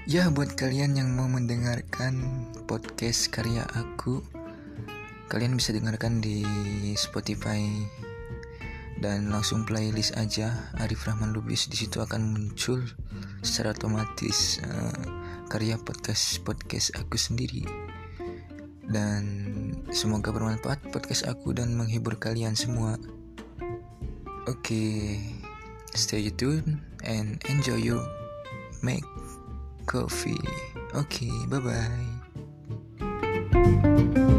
Ya, buat kalian yang mau mendengarkan podcast karya aku, kalian bisa dengarkan di Spotify dan langsung playlist aja Arif Rahman Lubis. Di situ akan muncul secara otomatis karya podcast aku sendiri. Dan semoga bermanfaat podcast aku dan menghibur kalian semua. Oke, stay tuned and enjoy your make coffee. Okay, bye-bye.